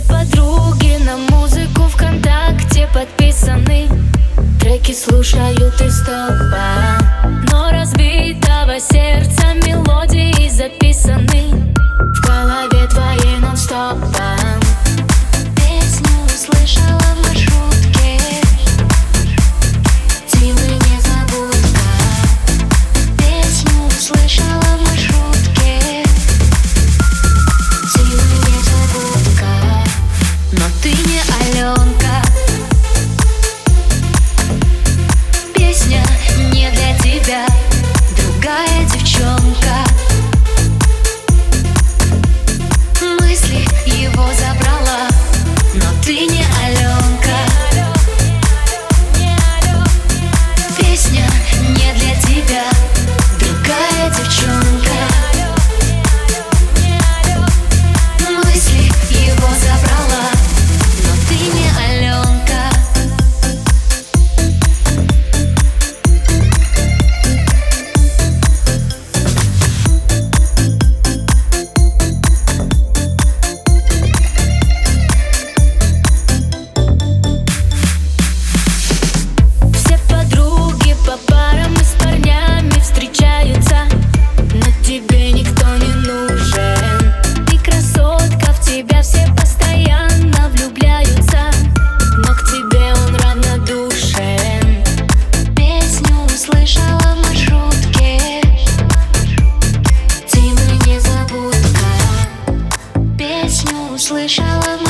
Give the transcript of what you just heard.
подруги на музыку ВКонтакте подписаны. Треки слушают из топа, но разбитого сердца мелодии записаны в голове твоей нон-стопом. Песню услышала в маршрутке, Тимы незабудка. Песню услышала в маршрутке, Тимы незабудка. Но ты не Аленка, песня не для тебя, другая девчонка. Мысли его забрала, но ты не Аленка. Песня не для тебя, другая девчонка. Мысли его забрала, но ты не Аленка. Все подруги по парам и с парнями встречаются, но тебе никто не нужен. Ты красотка, в тебя все постоянно влюбляются, но к тебе он равнодушен. Песню услышала в маршрутке, Тимы незабудка. Песню услышала в